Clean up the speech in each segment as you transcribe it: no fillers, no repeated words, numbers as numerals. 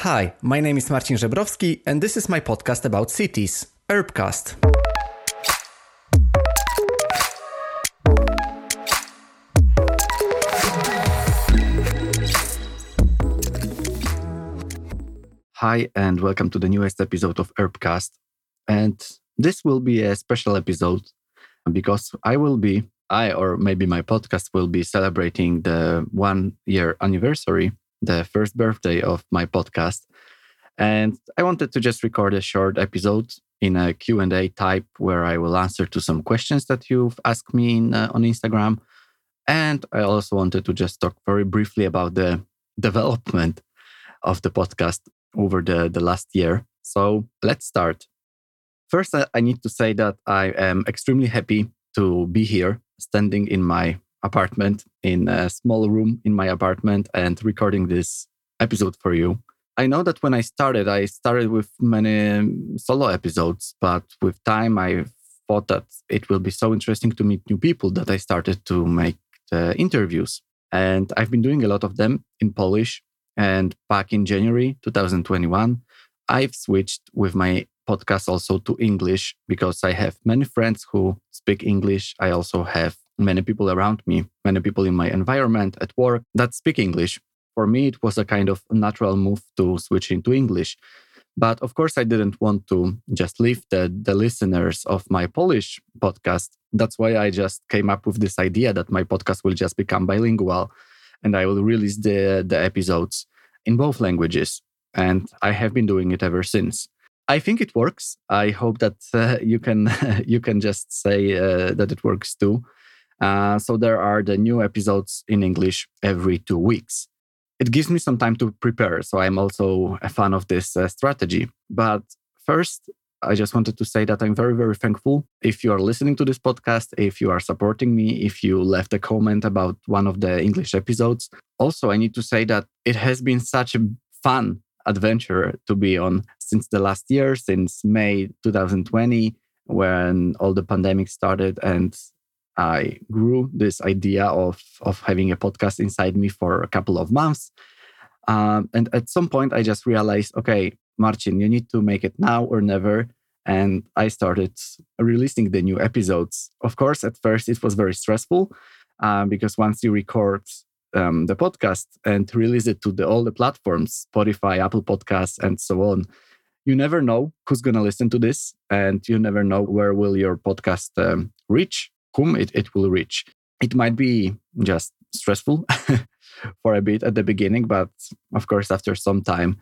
Hi, my name is Marcin Żebrowski and this is my podcast about cities, Urbcast. Hi and welcome to the newest episode of Urbcast. And this will be a special episode because or maybe my podcast will be celebrating the 1 year anniversary, the first birthday of my podcast. And I wanted to just record a short episode in a Q&A type where I will answer to some questions that you've asked me on Instagram. And I also wanted to just talk very briefly about the development of the podcast over the last year. So let's start. First, I need to say that I am extremely happy to be here, standing in my apartment, in a small room in my apartment and recording this episode for you. I know that when I started with many solo episodes, but with time, I thought that it will be so interesting to meet new people that I started to make the interviews. And I've been doing a lot of them in Polish. And back in January 2021, I've switched with my podcast also to English because I have many friends who speak English. I also have many people around me, many people in my environment at work that speak English. For me, it was a kind of natural move to switch into English. But of course, I didn't want to just leave the listeners of my Polish podcast. That's why I just came up with this idea that my podcast will just become bilingual and I will release the episodes in both languages. And I have been doing it ever since. I think it works. I hope that you can just say that it works too. So there are the new episodes in English every 2 weeks. It gives me some time to prepare. So I'm also a fan of this strategy. But first, I just wanted to say that I'm very, very thankful if you are listening to this podcast, if you are supporting me, if you left a comment about one of the English episodes. Also, I need to say that it has been such a fun adventure to be on since the last year, since May 2020, when all the pandemic started and I grew this idea of having a podcast inside me for a couple of months. And at some point, I just realized, okay, Marcin, you need to make it now or never. And I started releasing the new episodes. Of course, at first, it was very stressful because once you record the podcast and release it to all the platforms, Spotify, Apple Podcasts, and so on, you never know who's going to listen to this. And you never know where will your podcast reach, whom it will reach. It might be just stressful for a bit at the beginning, but of course, after some time,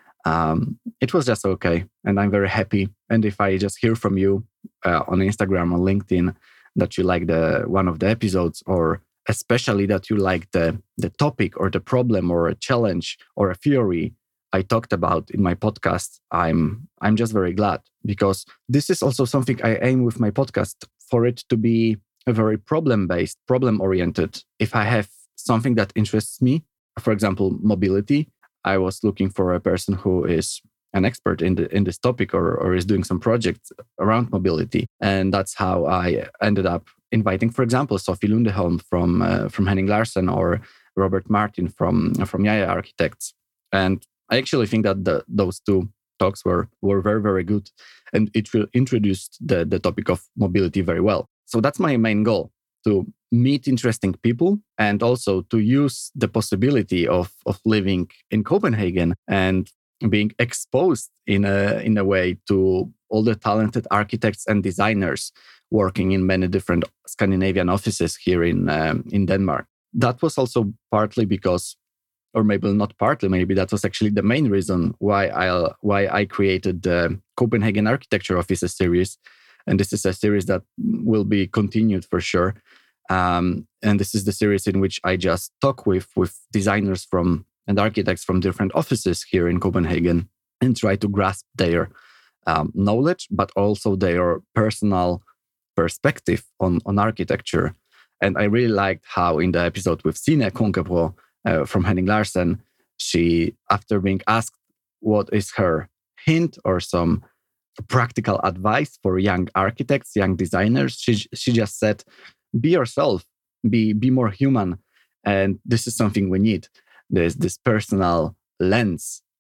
it was just okay. And I'm very happy. And if I just hear from you on Instagram or LinkedIn that you like one of the episodes, or especially that you like the topic or the problem or a challenge or a theory I talked about in my podcast, I'm just very glad, because this is also something I aim with my podcast, for it to be a very problem-based, problem-oriented. If I have something that interests me, for example, mobility, I was looking for a person who is an expert in this topic or is doing some projects around mobility. And that's how I ended up inviting, for example, Sophie Lundeholm from Henning Larsen or Robert Martin from Yaya Architects. And I actually think that those two talks were very, very good. And it introduced the topic of mobility very well. So that's my main goal, to meet interesting people and also to use the possibility of living in Copenhagen and being exposed in a way to all the talented architects and designers working in many different Scandinavian offices here in Denmark. That was also partly because, or maybe not partly, maybe that was actually the main reason why I created the Copenhagen Architecture Offices series. And this is a series that will be continued for sure. And this is the series in which I just talk with designers and architects from different offices here in Copenhagen and try to grasp their knowledge, but also their personal perspective on architecture. And I really liked how in the episode with Signe Konkebro from Henning Larsen, she, after being asked what is her hint or some practical advice for young architects, young designers, she just said, be yourself, be more human. And this is something we need. There's this personal lens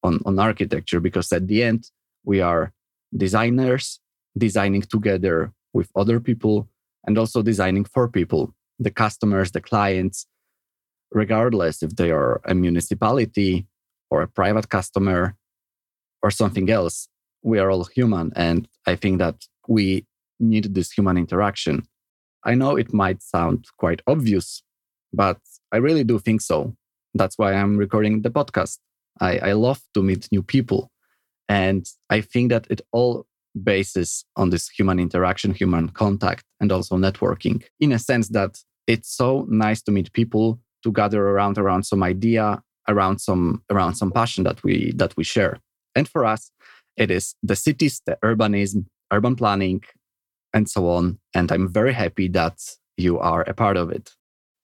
on architecture, because at the end, we are designers designing together with other people and also designing for people, the customers, the clients, regardless if they are a municipality or a private customer or something else. We are all human. And I think that we need this human interaction. I know it might sound quite obvious, but I really do think so. That's why I'm recording the podcast. I love to meet new people. And I think that it all bases on this human interaction, human contact, and also networking, in a sense that it's so nice to meet people, to gather around some idea, around some passion that we share. And for us, it is the cities, the urbanism, urban planning, and so on. And I'm very happy that you are a part of it.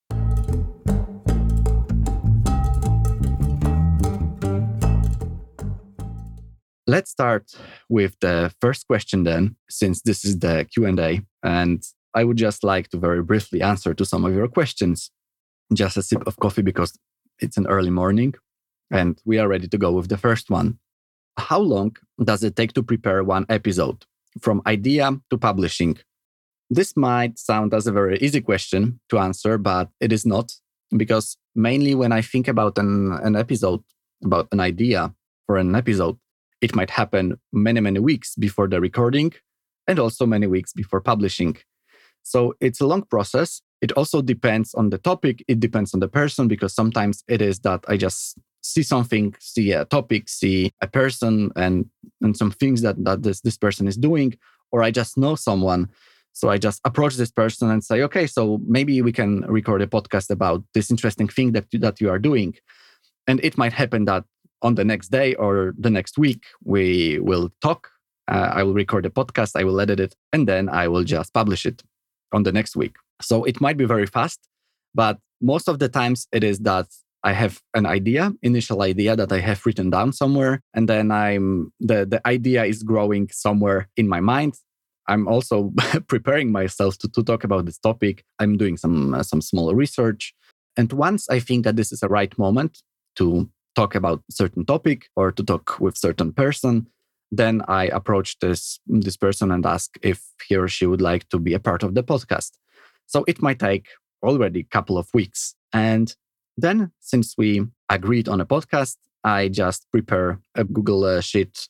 Let's start with the first question then, since this is the Q&A. And I would just like to very briefly answer to some of your questions. Just a sip of coffee because it's an early morning and we are ready to go with the first one. How long does it take to prepare one episode from idea to publishing? This might sound as a very easy question to answer, but it is not, because mainly when I think about an episode, about an idea for an episode, it might happen many, many weeks before the recording and also many weeks before publishing. So it's a long process. It also depends on the topic. It depends on the person, because sometimes it is that I just see something, see a topic, see a person and some things that this person is doing, or I just know someone. So I just approach this person and say, okay, so maybe we can record a podcast about this interesting thing that you are doing. And it might happen that on the next day or the next week, we will talk. I will record a podcast, I will edit it, and then I will just publish it on the next week. So it might be very fast, but most of the times it is that I have an initial idea that I have written down somewhere, and then the idea is growing somewhere in my mind. I'm also preparing myself to talk about this topic. I'm doing some small research. And once I think that this is the right moment to talk about certain topic or to talk with certain person, then I approach this person and ask if he or she would like to be a part of the podcast. So it might take already a couple of weeks. And then, since we agreed on a podcast, I just prepare a Google Sheet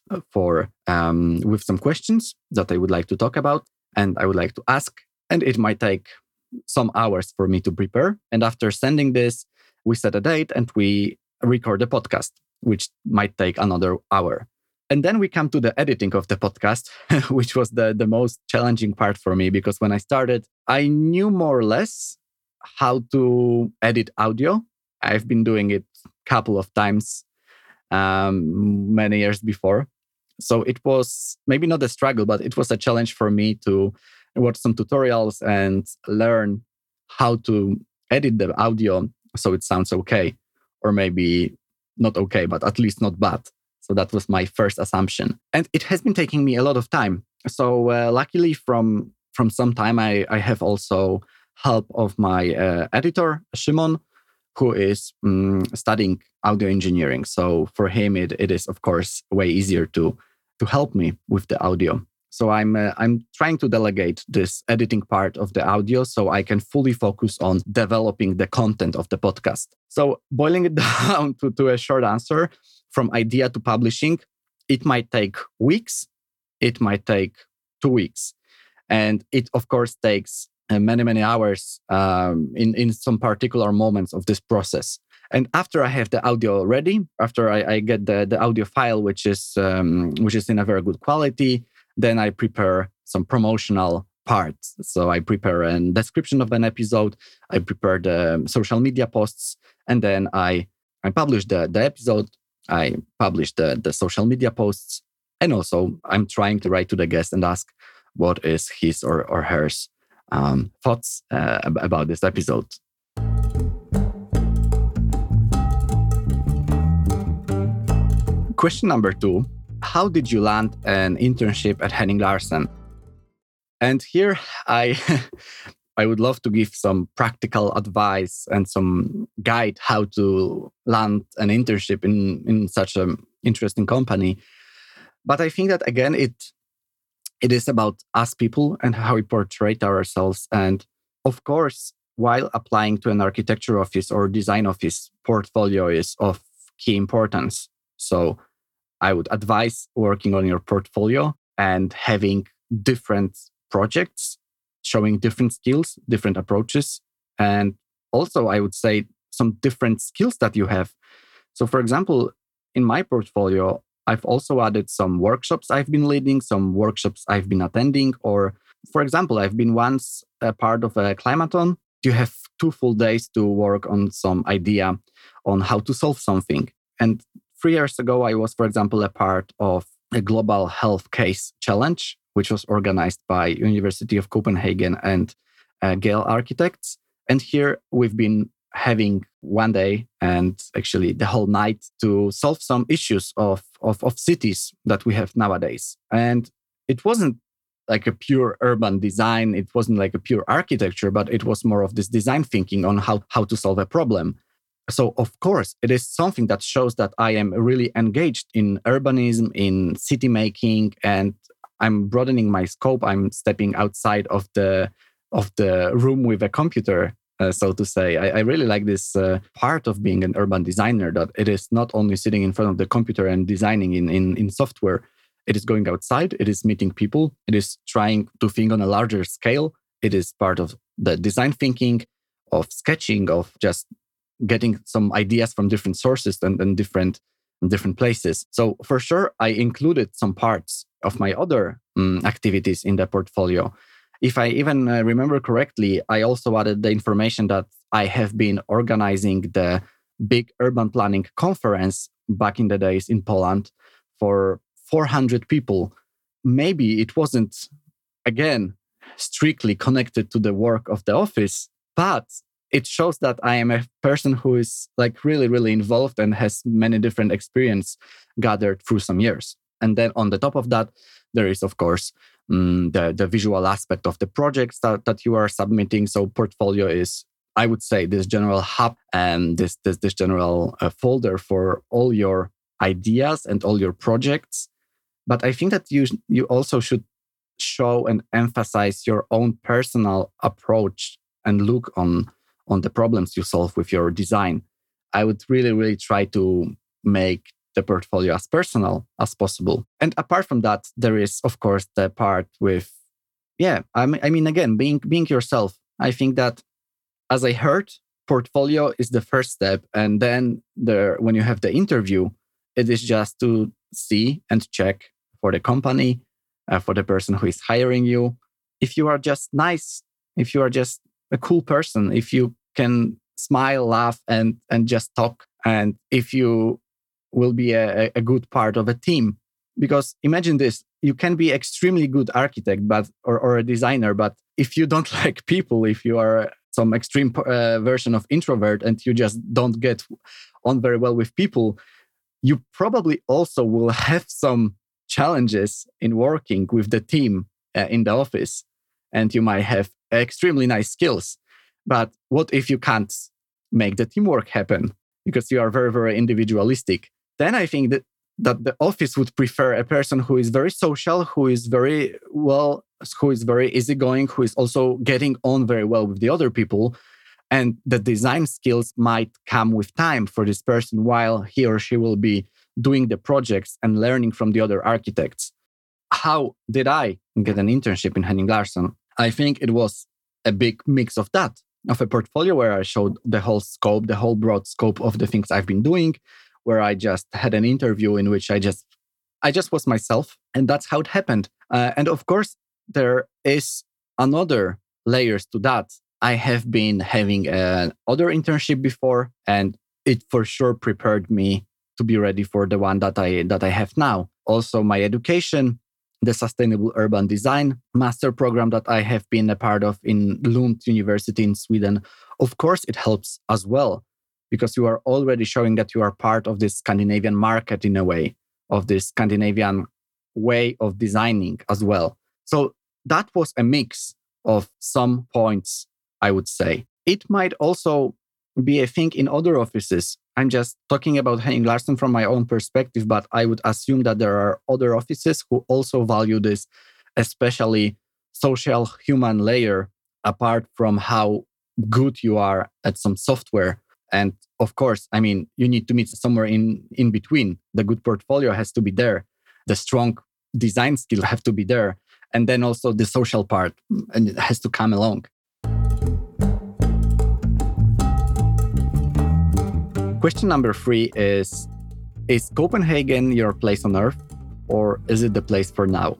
with some questions that I would like to talk about and I would like to ask. And it might take some hours for me to prepare. And after sending this, we set a date and we record the podcast, which might take another hour. And then we come to the editing of the podcast, which was the most challenging part for me, because when I started, I knew more or less how to edit audio. I've been doing it a couple of times many years before. So it was maybe not a struggle, but it was a challenge for me to watch some tutorials and learn how to edit the audio so it sounds okay. Or maybe not okay, but at least not bad. So that was my first assumption. And it has been taking me a lot of time. So luckily from some time, I have also help of my editor, Szymon, who is studying audio engineering. So for him, it is, of course, way easier to help me with the audio. So I'm trying to delegate this editing part of the audio so I can fully focus on developing the content of the podcast. So boiling it down to a short answer, from idea to publishing, it might take weeks, it might take 2 weeks. And it, of course, takes many, many hours in some particular moments of this process. And after I have the audio ready, after I get the audio file, which is in a very good quality, then I prepare some promotional parts. So I prepare a description of an episode, I prepare the social media posts, and then I publish the episode, I publish the social media posts, and also I'm trying to write to the guest and ask what is his or her thoughts about this episode. Question number 2. How did you land an internship at Henning Larsen? And here I would love to give some practical advice and some guide how to land an internship in such a interesting company. But I think that again, it is about us people and how we portray ourselves. And of course, while applying to an architecture office or design office, portfolio is of key importance. So I would advise working on your portfolio and having different projects, showing different skills, different approaches. And also, I would say some different skills that you have. So, for example, in my portfolio, I've also added some workshops I've been leading, some workshops I've been attending. Or, for example, I've been once a part of a climathon. You have 2 full days to work on some idea on how to solve something. And 3 years ago, I was, for example, a part of a global health case challenge, which was organized by University of Copenhagen and Gale Architects. And here we've been having 1 day and actually the whole night to solve some issues of cities that we have nowadays. And it wasn't like a pure urban design. It wasn't like a pure architecture, but it was more of this design thinking on how to solve a problem. So, of course, it is something that shows that I am really engaged in urbanism, in city making, and I'm broadening my scope. I'm stepping outside of the room with a computer, so to say. I really like this part of being an urban designer, that it is not only sitting in front of the computer and designing in software. It is going outside. It is meeting people. It is trying to think on a larger scale. It is part of the design thinking, of sketching, of just getting some ideas from different sources and different places. So for sure, I included some parts of my other activities in the portfolio. If I even remember correctly, I also added the information that I have been organizing the big urban planning conference back in the days in Poland for 400 people. Maybe it wasn't, again, strictly connected to the work of the office, but it shows that I am a person who is like really, really involved and has many different experience gathered through some years. And then on the top of that, there is, of course, the visual aspect of the projects that you are submitting. So portfolio is, I would say, this general hub and this general folder for all your ideas and all your projects. But I think that you also should show and emphasize your own personal approach and look on the problems you solve with your design. I would really, really try to make the portfolio as personal as possible. And apart from that, there is, of course, the part with, I mean, again, being yourself. I think that, as I heard, portfolio is the first step. And then when you have the interview, it is just to see and check for the company, for the person who is hiring you. If you are just nice, if you are just a cool person, if you can smile, laugh, and just talk, and if you will be a good part of a team. Because imagine this, you can be extremely good architect or a designer, but if you don't like people, if you are some extreme version of introvert and you just don't get on very well with people, you probably also will have some challenges in working with the team in the office. And you might have extremely nice skills. But what if you can't make the teamwork happen because you are very, very individualistic? Then I think that the office would prefer a person who is very social, who is very easygoing, who is also getting on very well with the other people. And the design skills might come with time for this person while he or she will be doing the projects and learning from the other architects. How did I get an internship in Henning Larsen? I think it was a big mix of that, of a portfolio where I showed the whole scope, the whole broad scope of the things I've been doing, where I just had an interview in which I just was myself. And that's how it happened. And of course, there is another layers to that. I have been having another internship before, and it for sure prepared me to be ready for the one that I have now. Also, my education, the Sustainable Urban Design master program that I have been a part of in Lund University in Sweden. Of course, it helps as well, because you are already showing that you are part of this Scandinavian market in a way, of this Scandinavian way of designing as well. So that was a mix of some points, I would say. It might also be a thing in other offices. I'm just talking about Henning Larsen from my own perspective, but I would assume that there are other offices who also value this, especially social human layer, apart from how good you are at some software. And of course, I mean, you need to meet somewhere in between. The good portfolio has to be there. The strong design skill have to be there. And then also the social part, and it has to come along. Question number 3 is Copenhagen your place on earth, or is it the place for now?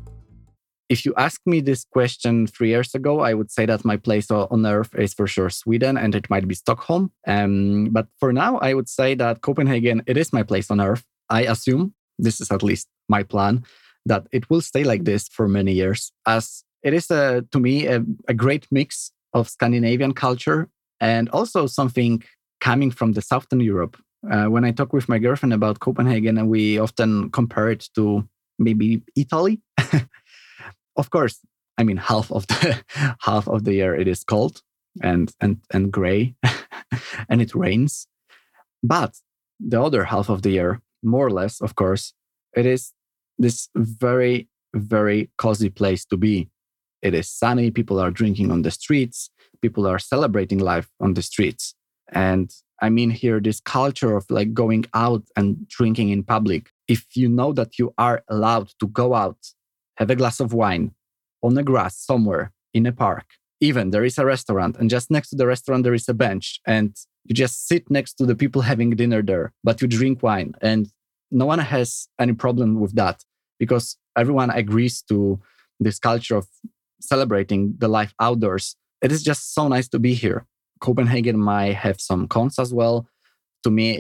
If you asked me this question 3 years ago, I would say that my place on earth is for sure Sweden, and it might be Stockholm. But for now, I would say that Copenhagen, it is my place on earth. I assume, this is at least my plan, that it will stay like this for many years, as it is, to me, a great mix of Scandinavian culture and also something coming from the Southern Europe. When I talk with my girlfriend about Copenhagen, we often compare it to maybe Italy. Of course, I mean half of the year it is cold and gray, and it rains. But the other half of the year, more or less, of course, it is this very, very cozy place to be. It is sunny. People are drinking on the streets. People are celebrating life on the streets. And I mean here, this culture of like going out and drinking in public. If you know that you are allowed to go out, have a glass of wine on the grass somewhere in a park, even there is a restaurant, and just next to the restaurant, there is a bench, and you just sit next to the people having dinner there, but you drink wine, and no one has any problem with that because everyone agrees to this culture of celebrating the life outdoors. It is just so nice to be here. Copenhagen might have some cons as well. To me,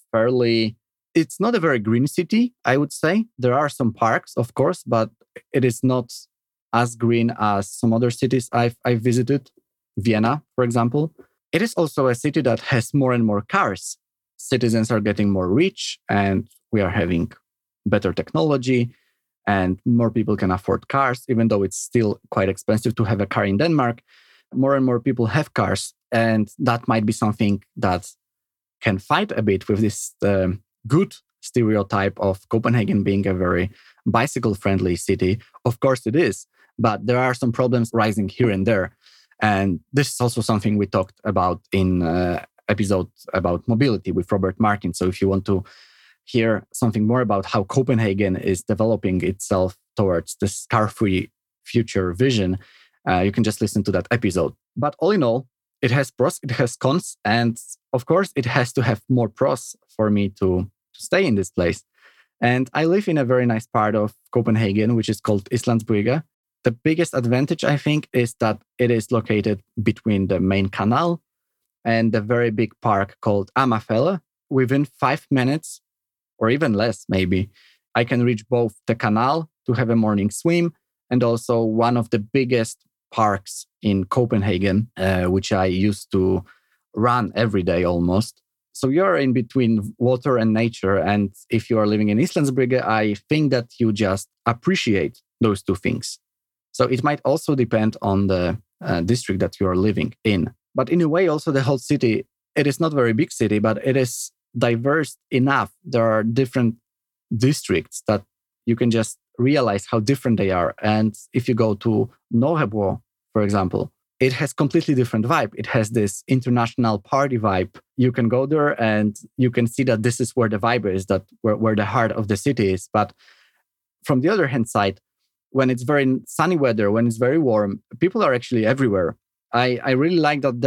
it's not a very green city, I would say. There are some parks, of course, but it is not as green as some other cities I've visited. Vienna, for example. It is also a city that has more and more cars. Citizens are getting more rich, and we are having better technology, and more people can afford cars, even though it's still quite expensive to have a car in Denmark. More and more people have cars, and that might be something that can fight a bit with this good stereotype of Copenhagen being a very bicycle-friendly city. Of course it is, but there are some problems rising here and there. And this is also something we talked about in episode about mobility with Robert Martin. So if you want to hear something more about how Copenhagen is developing itself towards this car-free future vision, you can just listen to that episode. But all in all, it has pros, it has cons, and of course, it has to have more pros for me to stay in this place. And I live in a very nice part of Copenhagen, which is called Islandsbrygge. The biggest advantage, I think, is that it is located between the main canal and the very big park called Amagerfjellet. Within 5 minutes, or even less, maybe, I can reach both the canal to have a morning swim and also one of the biggest parks in Copenhagen, which I used to run every day almost. So you're in between water and nature. And if you are living in Islandsbrygge, I think that you just appreciate those two things. So it might also depend on the district that you are living in. But in a way, also the whole city, it is not a very big city, but it is diverse enough. There are different districts that you can just realize how different they are. And if you go to Nørrebro, for example, it has completely different vibe. It has this international party vibe. You can go there and you can see that this is where the vibe is, that where the heart of the city is. But from the other hand side, when it's very sunny weather, when it's very warm, people are actually everywhere. I really like that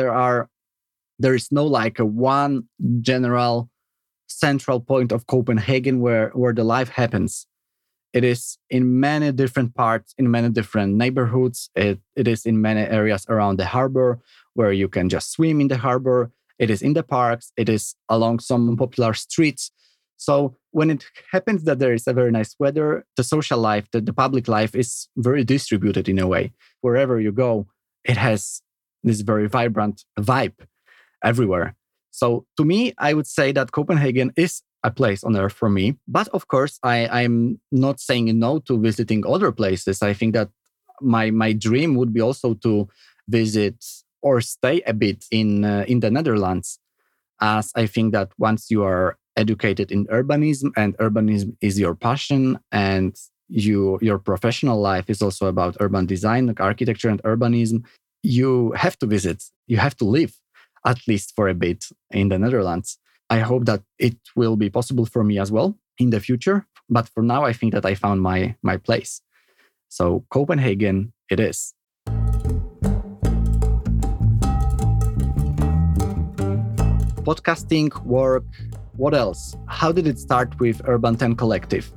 there is no like a one general central point of Copenhagen where the life happens. It is in many different parts, in many different neighborhoods. It is in many areas around the harbor where you can just swim in the harbor. It is in the parks. It is along some popular streets. So when it happens that there is a very nice weather, the social life, the public life is very distributed in a way. Wherever you go, it has this very vibrant vibe everywhere. So to me, I would say that Copenhagen is a place on earth for me. But of course, I'm not saying no to visiting other places. I think that my dream would be also to visit or stay a bit in the Netherlands. as I think that once you are educated in urbanism and urbanism is your passion and your professional life is also about urban design, like architecture and urbanism, you have to visit, you have to live at least for a bit in the Netherlands. I hope that it will be possible for me as well in the future. But for now, I think that I found my place. So Copenhagen it is. Podcasting, work, what else? How did it start with Urban 10 Collective?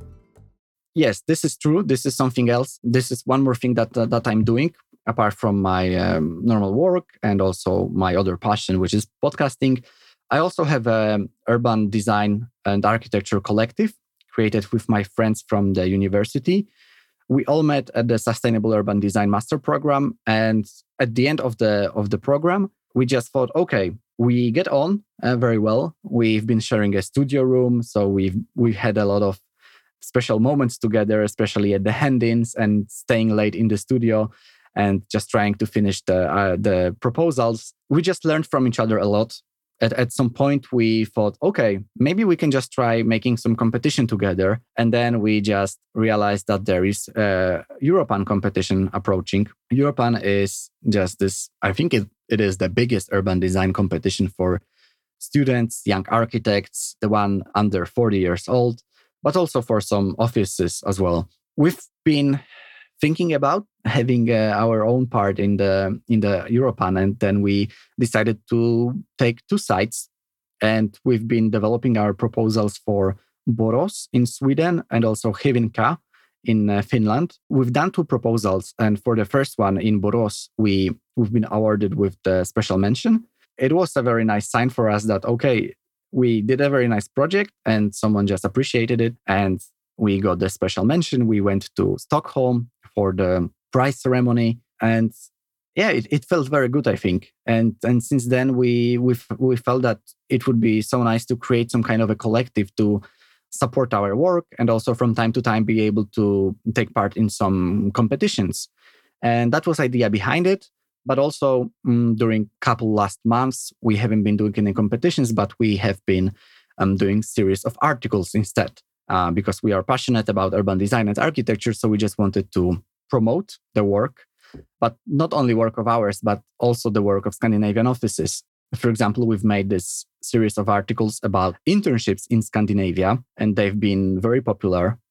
Yes, this is true. This is something else. This is one more thing that I'm doing apart from my normal work and also my other passion, which is podcasting. I also have an urban design and architecture collective created with my friends from the university. We all met at the Sustainable Urban Design Master Program. And at the end of the program, we just thought, okay, we get on very well. We've been sharing a studio room. So we've had a lot of special moments together, especially at the hand-ins and staying late in the studio and just trying to finish the proposals. We just learned from each other a lot. At some point, we thought, okay, maybe we can just try making some competition together. And then we just realized that there is a Europan competition approaching. Europan is just this, I think it is the biggest urban design competition for students, young architects, the one under 40 years old, but also for some offices as well. We've been thinking about having our own part in the Europan, and then we decided to take two sites, and we've been developing our proposals for Borås in Sweden and also Hyvinkää in Finland. We've done two proposals, and for the first one in Borås, we've been awarded with the special mention. It was a very nice sign for us that, okay, we did a very nice project and someone just appreciated it, and we got the special mention. We went to Stockholm for the prize ceremony, and yeah, it felt very good, I think. And since then, we felt that it would be so nice to create some kind of a collective to support our work and also from time to time be able to take part in some competitions. And that was the idea behind it. But also during couple last months, we haven't been doing any competitions, but we have been doing series of articles instead. Because we are passionate about urban design and architecture. So we just wanted to promote the work, but not only work of ours, but also the work of Scandinavian offices. For example, we've made this series of articles about internships in Scandinavia, and they've been very popular.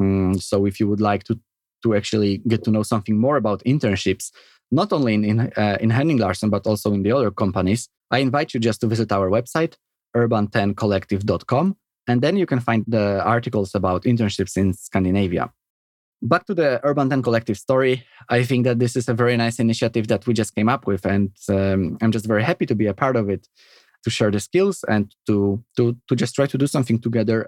So if you would like to actually get to know something more about internships, not only in Henning Larsen, but also in the other companies, I invite you just to visit our website, urban10collective.com. And then you can find the articles about internships in Scandinavia. Back to the Urban 10 Collective story, I think that this is a very nice initiative that we just came up with. And I'm just very happy to be a part of it, to share the skills and to just try to do something together.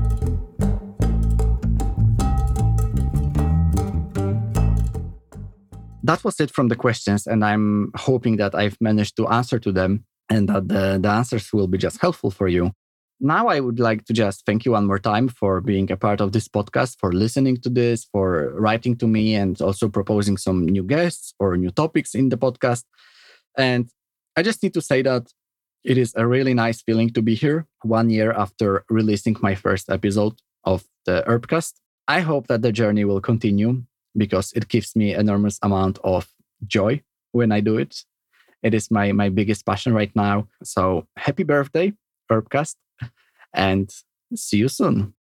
That was it from the questions. And I'm hoping that I've managed to answer to them and that the answers will be just helpful for you. Now, I would like to just thank you one more time for being a part of this podcast, for listening to this, for writing to me, and also proposing some new guests or new topics in the podcast. And I just need to say that it is a really nice feeling to be here 1 year after releasing my first episode of the Urbcast. I hope that the journey will continue because it gives me enormous amount of joy when I do it. It is my biggest passion right now. So happy birthday, Urbcast. And see you soon.